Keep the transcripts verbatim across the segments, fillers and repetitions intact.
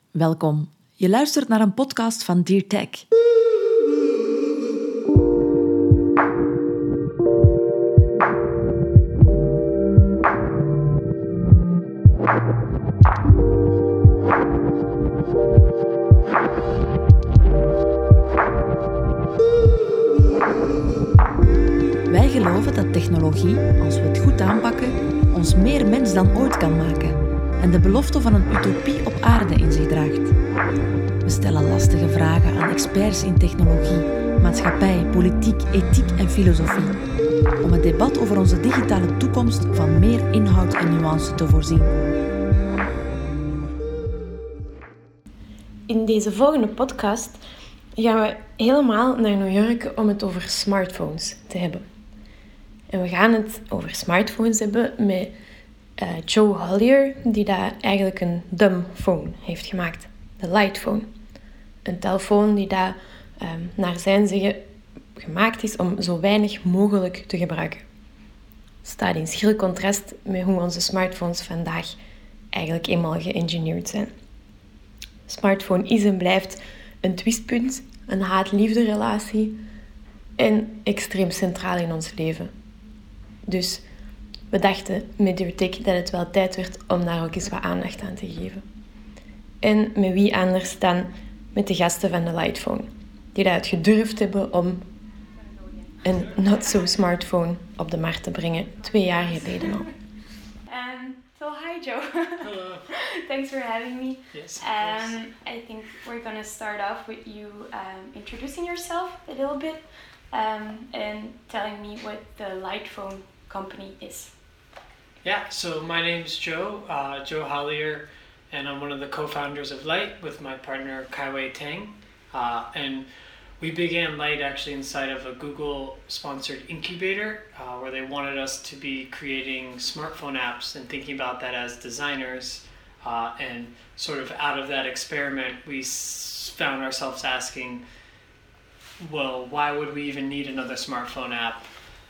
Welkom. Je luistert naar een podcast van Dear Tech. Wij geloven dat technologie, als we het goed aanpakken, ons meer mens dan ooit kan maken en de belofte van een utopie op aarde in zich draagt. We stellen lastige vragen aan experts in technologie, maatschappij, politiek, ethiek en filosofie, om het debat over onze digitale toekomst van meer inhoud en nuance te voorzien. In deze volgende podcast gaan we helemaal naar New York om het over smartphones te hebben. En we gaan het over smartphones hebben met uh, Joe Hollier, die daar eigenlijk een dumb phone heeft gemaakt. De Lightphone. Een telefoon die daar um, naar zijn zeggen gemaakt is om zo weinig mogelijk te gebruiken. Staat in schril contrast met hoe onze smartphones vandaag eigenlijk eenmaal geëngineerd zijn. Smartphone is en blijft een twistpunt, een haat-liefde relatie en extreem centraal in ons leven. Dus we dachten met Dear Tech dat het wel tijd werd om daar ook eens wat aandacht aan te geven. En met wie anders dan met de gasten van de Lightphone, die dat het gedurfd hebben om een not-so-smartphone op de markt te brengen, twee jaar geleden al. Um, so hi Joe. Hello. Thanks for having me. Yes, of Um, course. I think we're gonna start off with you um, introducing yourself a little bit um, and telling me what the Lightphone company is. Yeah, so my name's Joe, uh, Joe Hollier, and I'm one of the co-founders of Light with my partner Kaiwei Tang. Uh, and we began Light actually inside of a Google-sponsored incubator uh, where they wanted us to be creating smartphone apps and thinking about that as designers. Uh, and sort of out of that experiment, we s- found ourselves asking, well, why would we even need another smartphone app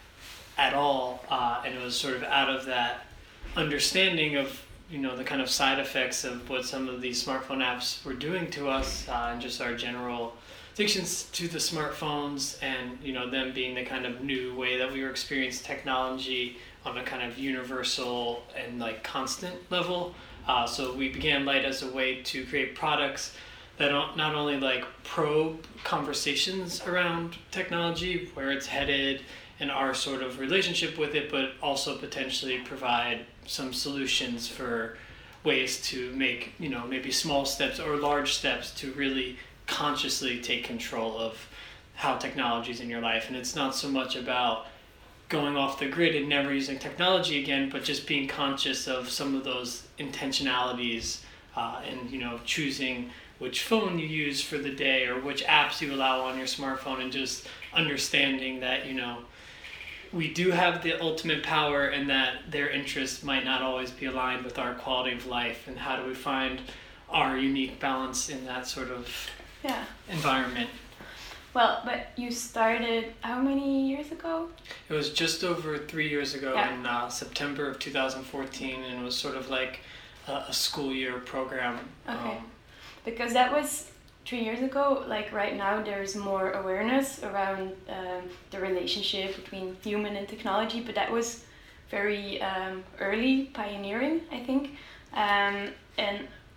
at all? Uh, and it was sort of out of that understanding of, you know, the kind of side effects of what some of these smartphone apps were doing to us uh, and just our general addictions to the smartphones and, you know, them being the kind of new way that we were experiencing technology on a kind of universal and like constant level. Uh, so we began Light as a way to create products that don't not only like probe conversations around technology, where it's headed and our sort of relationship with it, but also potentially provide some solutions for ways to make, you know, maybe small steps or large steps to really consciously take control of how technology is in your life. And it's not so much about going off the grid and never using technology again, but just being conscious of some of those intentionalities uh, and, you know, choosing which phone you use for the day or which apps you allow on your smartphone, and just understanding that, you know, we do have the ultimate power and that their interests might not always be aligned with our quality of life, and how do we find our unique balance in that sort of Yeah. environment. Well, but you started how many years ago? It was just over three years ago Yeah. in uh, September of two thousand fourteen, and it was sort of like a, a school year program. Okay. Um, Because that was three years ago. Like right now, there's more awareness around um, the relationship between human and technology, but that was very um, early, pioneering, I think. Um, and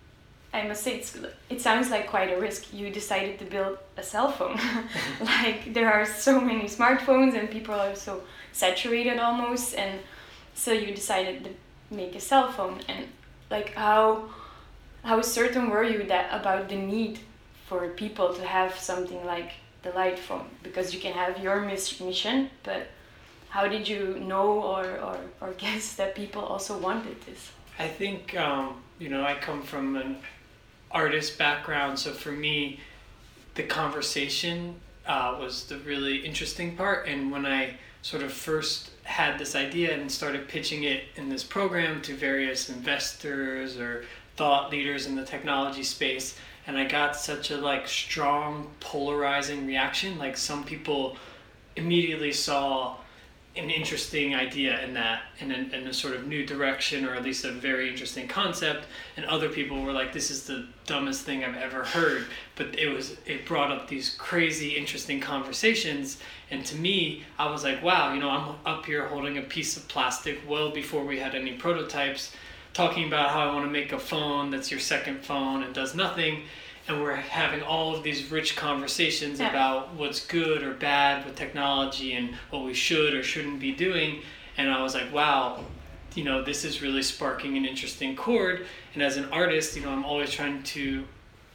I must say, it's, it sounds like quite a risk. You decided to build a cell phone. Like there are so many smartphones and people are so saturated almost, and so you decided to make a cell phone. And like how how certain were you that about the need for people to have something like the Lightphone? Because you can have your mis- mission, but how did you know or, or, or guess that people also wanted this? I think, um, you know, I come from an artist background, so for me, the conversation uh, was the really interesting part. And when I sort of first had this idea and started pitching it in this program to various investors or thought leaders in the technology space, and I got such a like strong polarizing reaction. Like some people immediately saw an interesting idea in that, in a, in a sort of new direction, or at least a very interesting concept, and other people were like, this is the dumbest thing I've ever heard, but it was it brought up these crazy interesting conversations. And to me, I was like, wow, you know, I'm up here holding a piece of plastic well before we had any prototypes, talking about how I want to make a phone that's your second phone and does nothing. And we're having all of these rich conversations yeah. about what's good or bad with technology and what we should or shouldn't be doing. And I was like, wow, you know, this is really sparking an interesting chord. And as an artist, you know, I'm always trying to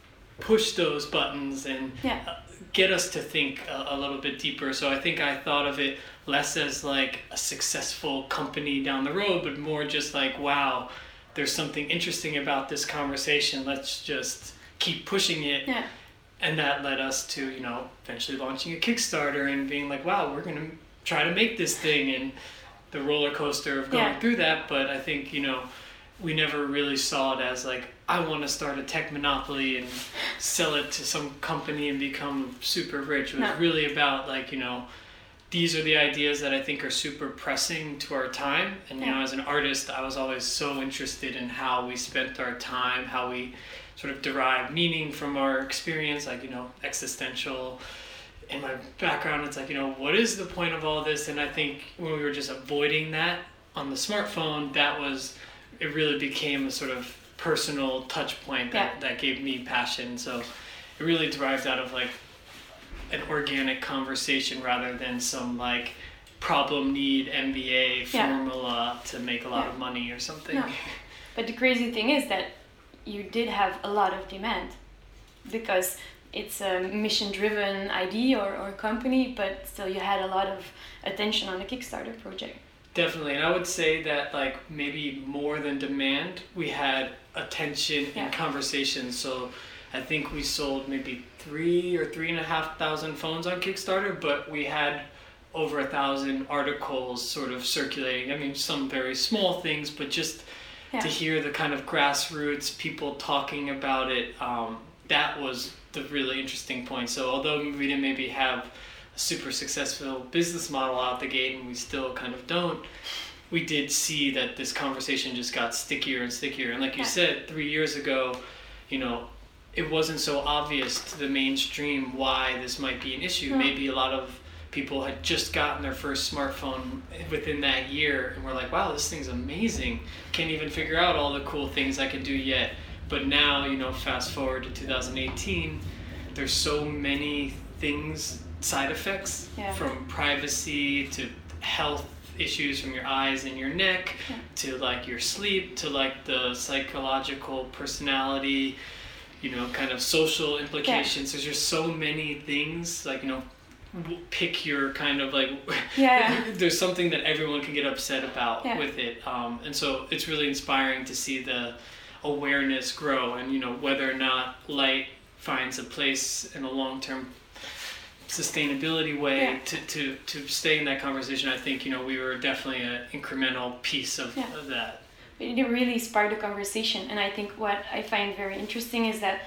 push those buttons and yeah. uh, get us to think a, a little bit deeper. So I think I thought of it less as like a successful company down the road, but more just like, wow, there's something interesting about this conversation. Let's just keep pushing it. Yeah. And that led us to, you know, eventually launching a Kickstarter and being like, wow, we're going to try to make this thing, and the roller coaster of going yeah. through that. But I think, you know, we never really saw it as like, I want to start a tech monopoly and sell it to some company and become super rich. It was no. really about like, you know, these are the ideas that I think are super pressing to our time. And, you yeah. know, as an artist, I was always so interested in how we spent our time, how we sort of derive meaning from our experience, like, you know, existential. In my background, it's like, you know, what is the point of all this? And I think when we were just avoiding that on the smartphone, that was, it really became a sort of personal touch point that, yeah. that gave me passion. So it really derived out of like an organic conversation rather than some like problem need M B A formula yeah. to make a lot yeah. of money or something. No. But the crazy thing is that you did have a lot of demand, because it's a mission-driven idea or, or company, but still you had a lot of attention on the Kickstarter project. Definitely, and I would say that like maybe more than demand, we had attention yeah. and conversation. So I think we sold maybe three or three and a half thousand phones on Kickstarter, but we had over a thousand articles sort of circulating. I mean, some very small things, but just yeah. to hear the kind of grassroots people talking about it, um, that was the really interesting point. So although we didn't maybe have a super successful business model out the gate, and we still kind of don't, we did see that this conversation just got stickier and stickier. And like you yeah. said, three years ago, you know, it wasn't so obvious to the mainstream why this might be an issue. Yeah. Maybe a lot of people had just gotten their first smartphone within that year and were like, wow, this thing's amazing. Can't even figure out all the cool things I can do yet. But now, you know, fast forward to two thousand eighteen, there's so many things, side effects, yeah. from privacy to health issues from your eyes and your neck, yeah. to like your sleep, to like the psychological personality, you know, kind of social implications. Yeah. There's just so many things, like, you know, pick your kind of like, yeah. there's something that everyone can get upset about yeah. with it. Um, and so it's really inspiring to see the awareness grow, and, you know, whether or not light finds a place in a long-term sustainability way yeah. to, to, to stay in that conversation. I think, you know, we were definitely an incremental piece of, yeah. of that. But it really sparked a conversation, and I think what I find very interesting is that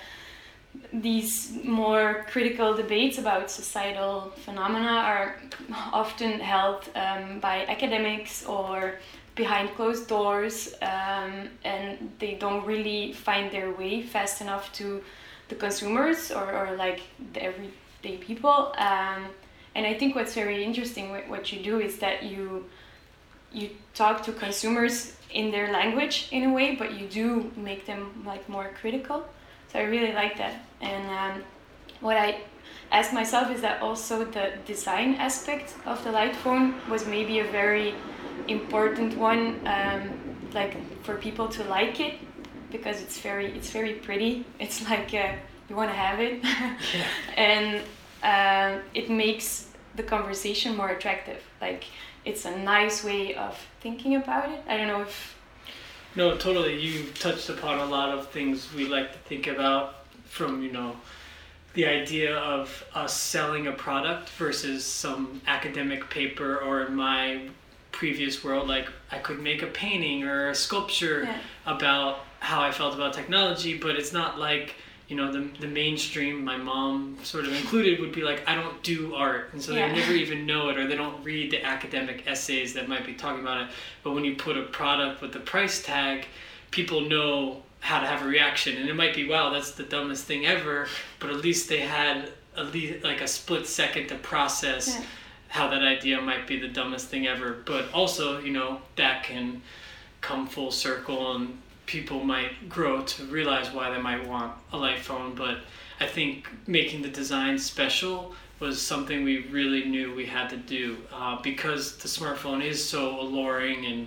these more critical debates about societal phenomena are often held um, by academics or behind closed doors, um, and they don't really find their way fast enough to the consumers or, or like the everyday people. Um, and I think what's very interesting with what you do is that you you talk to consumers in their language in a way, but you do make them like more critical. So I really like that. And um, what I asked myself is that also the design aspect of the light phone was maybe a very important one, um, like for people to like it, because it's very it's very pretty. It's like uh, you want to have it. Yeah. And uh, it makes the conversation more attractive. Like, it's a nice way of thinking about it. I don't know if... No, totally. You touched upon a lot of things we like to think about, from, you know, the idea of us selling a product versus some academic paper, or in my previous world, like I could make a painting or a sculpture yeah. about how I felt about technology, but it's not like you know, the the mainstream, my mom sort of included, would be like, I don't do art, and so Yeah. they never even know it, or they don't read the academic essays that might be talking about it. But when you put a product with the price tag, people know how to have a reaction, and it might be, wow, that's the dumbest thing ever, but at least they had at least like a split second to process Yeah. how that idea might be the dumbest thing ever. But also, you know, that can come full circle, and people might grow to realize why they might want a light phone. But I think making the design special was something we really knew we had to do, uh, because the smartphone is so alluring and,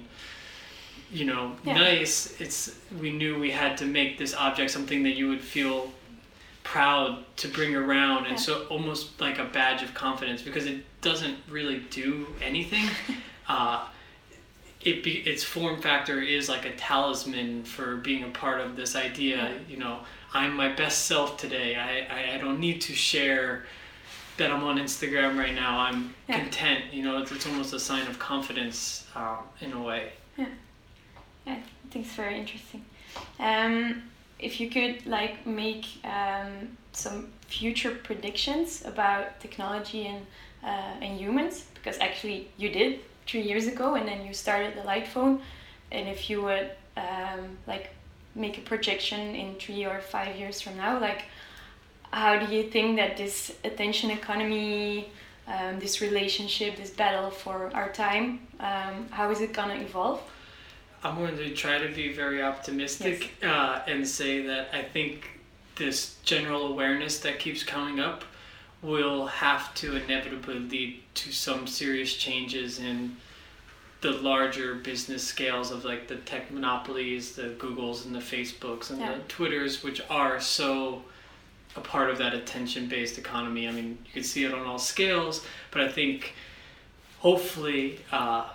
you know, Yeah. nice. It's we knew we had to make this object something that you would feel proud to bring around, and Yeah. so almost like a badge of confidence, because it doesn't really do anything. uh, it be, its form factor is like a talisman for being a part of this idea. Yeah. You know, I'm my best self today. I, I, I don't need to share that I'm on Instagram right now. I'm Yeah. content. You know, it's, it's almost a sign of confidence, um, in a way. Yeah, I think it's very interesting. Um, if you could like make um, some future predictions about technology and uh, and humans, because actually you did three years ago, and then you started the light phone. And if you would um, like make a projection in three or five years from now, like how do you think that this attention economy, um, this relationship, this battle for our time, um, how is it gonna evolve? I'm going to try to be very optimistic, uh, and say that I think this general awareness that keeps coming up will have to inevitably lead to some serious changes in the larger business scales of like the tech monopolies, the Googles and the Facebooks and Yeah. the Twitters, which are so a part of that attention-based economy. I mean, you can see it on all scales, but I think hopefully uh,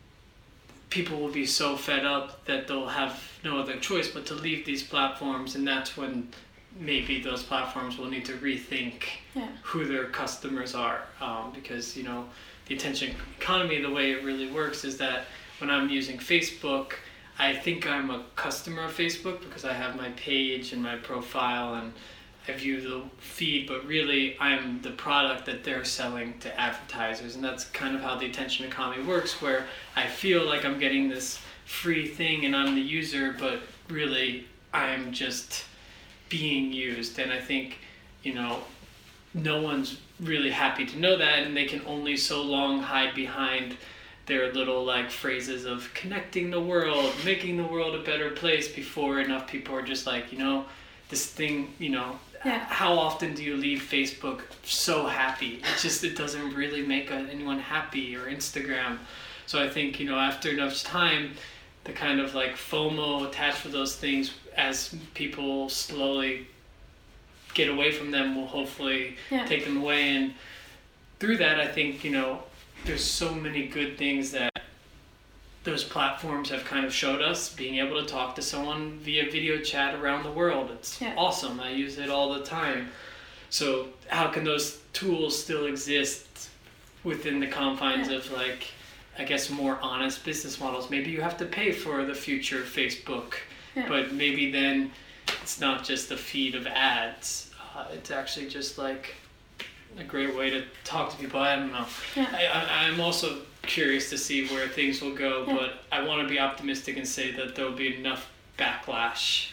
people will be so fed up that they'll have no other choice but to leave these platforms, and that's when maybe those platforms will need to rethink Yeah. who their customers are, um, because, you know, the attention economy, the way it really works is that when I'm using Facebook, I think I'm a customer of Facebook because I have my page and my profile and I view the feed, but really I'm the product that they're selling to advertisers. And that's kind of how the attention economy works, where I feel like I'm getting this free thing and I'm the user, but really I'm just being used. And I think, you know, no one's really happy to know that, and they can only so long hide behind their little like phrases of connecting the world, making the world a better place, before enough people are just like, you know, this thing, you know, Yeah. how often do you leave Facebook so happy? It just, it doesn't really make anyone happy, or Instagram. So I think, you know, after enough time, the kind of like FOMO attached to those things, as people slowly get away from them, will hopefully Yeah. take them away. And through that, I think, you know, there's so many good things that those platforms have kind of showed us. Being able to talk to someone via video chat around the world, it's Yeah. awesome. I use it all the time. So how can those tools still exist within the confines Yeah. of like, I guess, more honest business models? Maybe you have to pay for the future Facebook, Yeah. but maybe then it's not just a feed of ads. Uh, it's actually just like a great way to talk to people. I don't know. Yeah. I, I, I'm also curious to see where things will go, Yeah. but I want to be optimistic and say that there will be enough backlash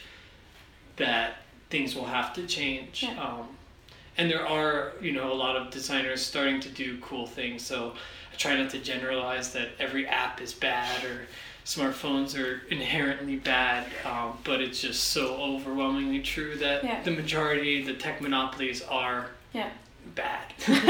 that things will have to change. Yeah. Um, and there are, you know, a lot of designers starting to do cool things. So I try not to generalize that every app is bad or smartphones are inherently bad, um, but it's just so overwhelmingly true that Yeah. the majority, the tech monopolies, are Yeah. bad.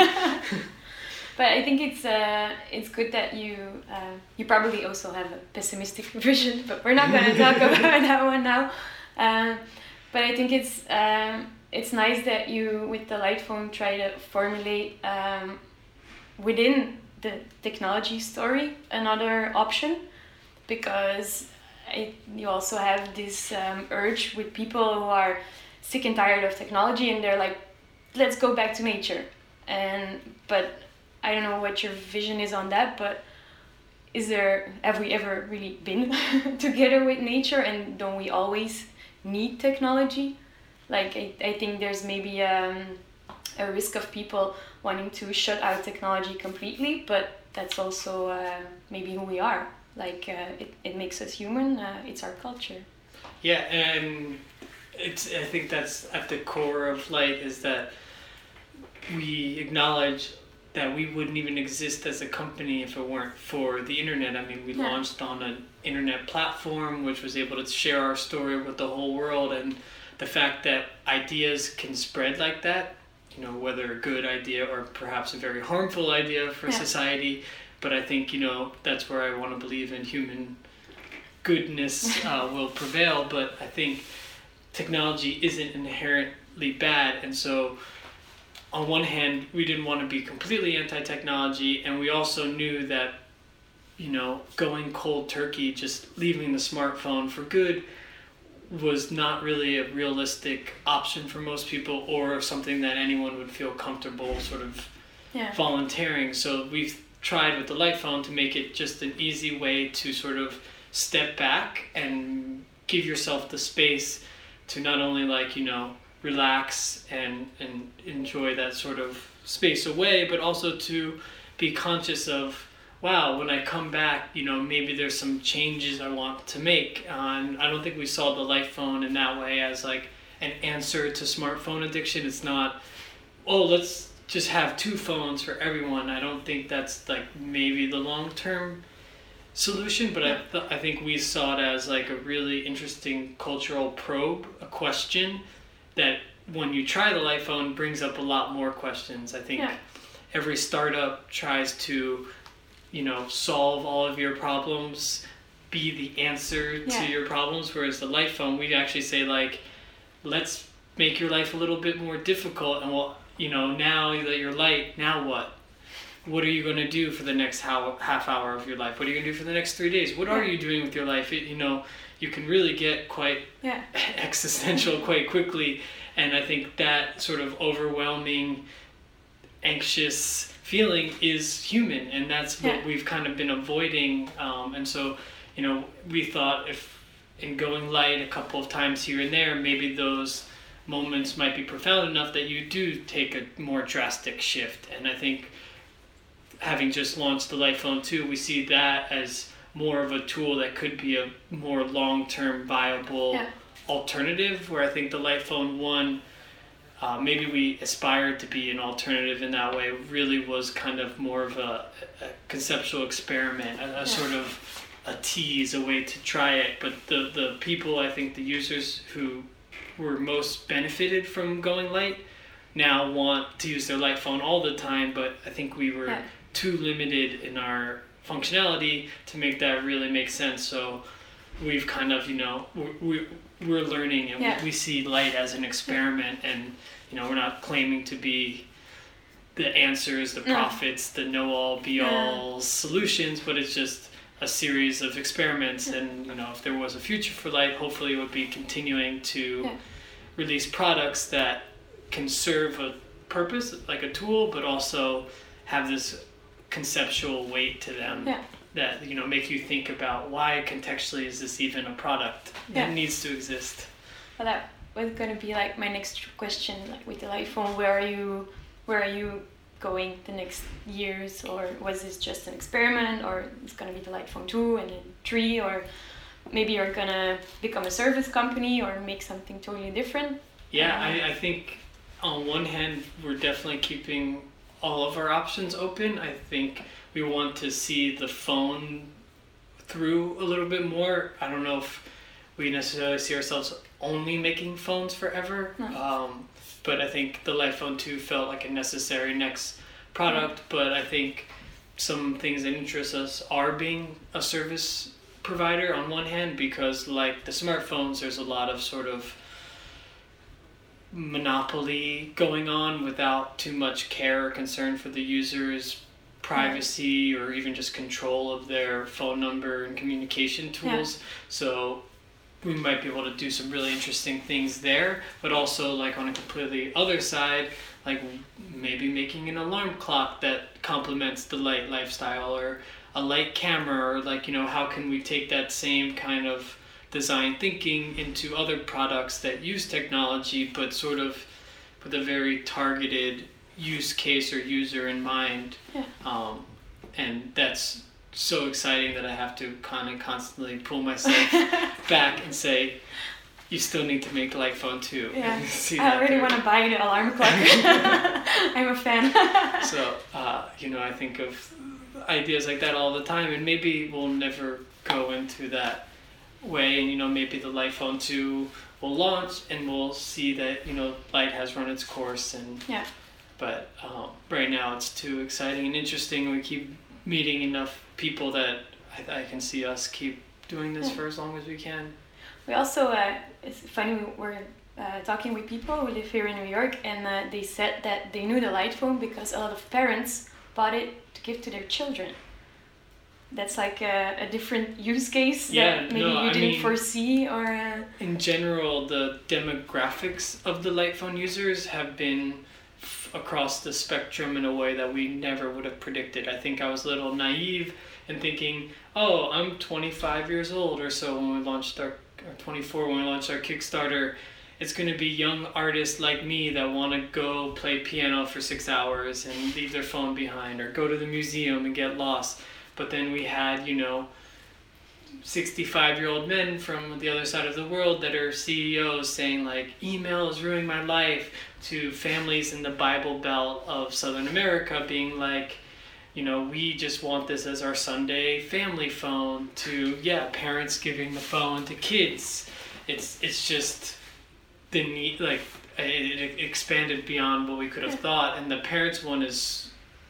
But I think it's uh, it's good that you uh, you probably also have a pessimistic vision, but we're not going to talk about that one now. Um, but I think it's um, it's nice that you, with the light phone, try to formulate um, within the technology story another option, because it, you also have this um, urge with people who are sick and tired of technology, and they're like, let's go back to nature. And but I don't know what your vision is on that, but is there, have we ever really been together with nature, and don't we always need technology? Like I, I think there's maybe um, a risk of people wanting to shut out technology completely, but that's also uh, maybe who we are. Like uh, it, it makes us human. Uh, it's our culture. Yeah, and it's I think that's at the core of Light, is that we acknowledge that we wouldn't even exist as a company if it weren't for the internet. I mean, we Yeah. launched on an internet platform which was able to share our story with the whole world, and the fact that ideas can spread like that, you know, whether a good idea or perhaps a very harmful idea for Yeah. society. But I think, you know, that's where I want to believe in human goodness uh, will prevail. But I think technology isn't inherently bad, and so on one hand, we didn't want to be completely anti-technology, and we also knew that, you know, going cold turkey, just leaving the smartphone for good, was not really a realistic option for most people, or something that anyone would feel comfortable sort of Yeah. volunteering. So we've tried with the Light phone to make it just an easy way to sort of step back and give yourself the space to not only, like, you know, relax and and enjoy that sort of space away, but also to be conscious of, wow, when I come back, you know, maybe there's some changes I want to make. Uh, and I don't think we saw the Light phone in that way as like an answer to smartphone addiction. It's not, oh, let's just have two phones for everyone. I don't think that's like maybe the long-term solution, but I, th- I think we saw it as like a really interesting cultural probe, a question that when you try the Light phone brings up a lot more questions. I think Yeah. every startup tries to, you know, solve all of your problems, be the answer Yeah. to your problems, whereas the Light phone, we actually say, like, let's make your life a little bit more difficult, and well, you know, now that you're Light, now what? What are you going to do for the next how, half hour of your life? What are you going to do for the next three days? What are Yeah. you doing with your life? It, you know, you can really get quite Yeah. existential quite quickly, and I think that sort of overwhelming, anxious feeling is human, and that's what Yeah. we've kind of been avoiding. Um, and so, you know, we thought if in going Light a couple of times here and there, maybe those moments might be profound enough that you do take a more drastic shift. And I think having just launched the Light phone two, we see that as more of a tool that could be a more long-term viable Yeah. alternative, where I think the Light phone one, uh, maybe we aspired to be an alternative in that way, really was kind of more of a, a conceptual experiment, a, a Yeah. sort of a tease, a way to try it. But the, the people, I think the users who were most benefited from going Light now want to use their Light phone all the time, but I think we were Yeah. too limited in our functionality to make that really make sense. So we've kind of, you know, we're, we're, we're learning, and Yeah. we, we see Light as an experiment, and, you know, we're not claiming to be the answers, the No. prophets, the know-all, be-all solutions, but it's just a series of experiments. And, you know, if there was a future for Light, hopefully it would be continuing to Yeah. release products that can serve a purpose, like a tool, but also have this conceptual weight to them. Yeah. That, you know, make you think about, why contextually is this even a product Yeah. that needs to exist? Well, that was gonna be like my next question. Like with the Light phone, where are you? Where are you going the next years? Or was this just an experiment? Or it's gonna be the Light phone two and then three? Or maybe you're gonna become a service company or make something totally different? Yeah, Um, I, I think on one hand, we're definitely keeping all of our options open. I think we want to see the phone through a little bit more. I don't know if we necessarily see ourselves only making phones forever. No. Um, but I think the Light phone two felt like a necessary next product. But I think some things that interest us are being a service provider on one hand, because like the smartphones, there's a lot of sort of monopoly going on without too much care or concern for the user's privacy or even just control of their phone number and communication tools. Yeah. So we might be able to do some really interesting things there, but also like on a completely other side, like maybe making an alarm clock that complements the Light lifestyle, or a Light camera, or like, you know, how can we take that same kind of design thinking into other products that use technology, but sort of with a very targeted use case or user in mind. Yeah. Um, and that's so exciting that I have to kind of constantly pull myself back and say, you still need to make Light Phone two. Yeah. See I that already there. want to buy the alarm clock. I'm a fan. So, uh, you know, I think of ideas like that all the time, and maybe we'll never go into that way, and, you know, maybe the Light Phone two will launch and we'll see that, you know, Light has run its course, and Yeah. but um, right now it's too exciting and interesting. We keep meeting enough people that I, I can see us keep doing this Yeah. for as long as we can. We also, uh, it's funny, we were uh, talking with people who live here in New York, and uh, they said that they knew the Light Phone because a lot of parents bought it to give to their children. That's like a, a different use case Yeah, that maybe no, you I didn't mean- foresee, or... Uh, In general, the demographics of the Light Phone users have been f- across the spectrum in a way that we never would have predicted. I think I was a little naive in thinking, oh, I'm twenty-five years old or so when we launched our, or twenty-four when we launched our Kickstarter. It's going to be young artists like me that want to go play piano for six hours and leave their phone behind, or go to the museum and get lost. But then we had, you know, sixty-five-year-old men from the other side of the world that are C E Os saying, like, email is ruining my life, to families in the Bible Belt of Southern America being like, you know, we just want this as our Sunday family phone, to, yeah, parents giving the phone to kids. It's it's just the need, like, it, it expanded beyond what we could have thought, and the parents one is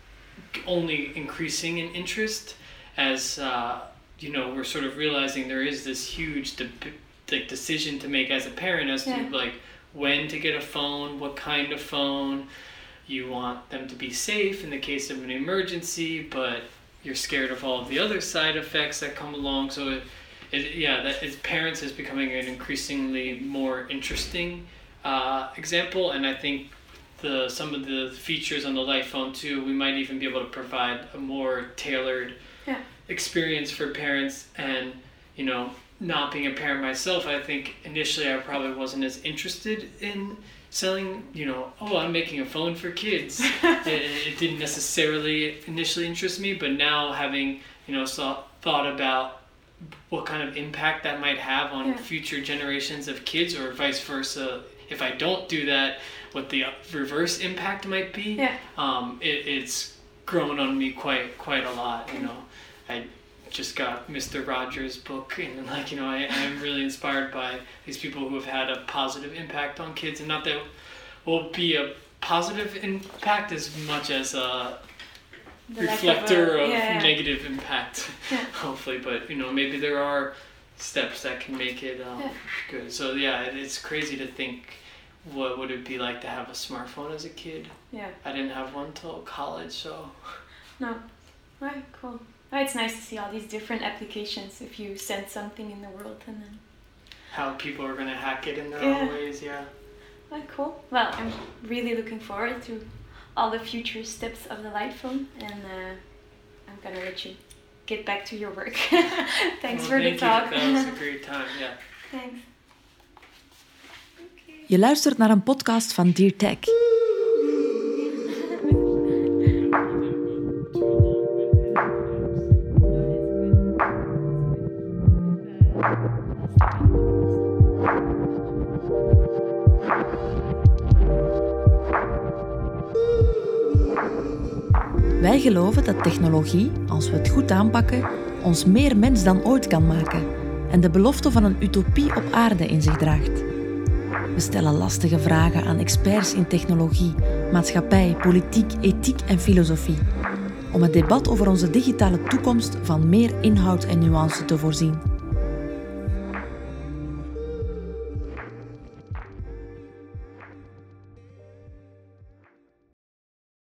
only increasing in interest as uh, you know, we're sort of realizing there is this huge de- like decision to make as a parent as Yeah. to like when to get a phone, what kind of phone. You want them to be safe in the case of an emergency, but you're scared of all of the other side effects that come along. So it, it yeah, that is, parents is becoming an increasingly more interesting uh, example, and I think the some of the features on the Light Phone two, we might even be able to provide a more tailored Yeah. experience for parents. And, you know, not being a parent myself, I think initially I probably wasn't as interested in selling, you know, oh, I'm making a phone for kids. it, it didn't necessarily initially interest me, but now having, you know, saw, thought about what kind of impact that might have on Yeah. future generations of kids, or vice versa, if I don't do that, what the reverse impact might be. Yeah. Um, it, it's grown on me quite quite a lot, you know. I just got Mister Rogers' book, and, like, you know, I, I'm really inspired by these people who have had a positive impact on kids, and not that will be a positive impact as much as a The lack of reflector a- of, yeah, yeah. negative impact, Yeah. hopefully. But, you know, maybe there are steps that can make it um, Yeah. good. So, yeah, it, it's crazy to think, what would it be like to have a smartphone as a kid? Yeah. I didn't have one till college, so... No. Right, cool. Oh, it's nice to see all these different applications if you send something in the world, and then... How people are going to hack it in their Yeah. own ways, yeah. Oh, cool. Well, I'm really looking forward to all the future steps of the Light Phone, and uh, I'm gonna let you get back to your work. Thanks Well, for thank the you. talk. That was a great time, yeah. Thanks. Je luistert naar een podcast van Dear Tech. Wij geloven dat technologie, als we het goed aanpakken, ons meer mens dan ooit kan maken en de belofte van een utopie op aarde in zich draagt. We stellen lastige vragen aan experts in technologie, maatschappij, politiek, ethiek en filosofie, om het debat over onze digitale toekomst van meer inhoud en nuance te voorzien.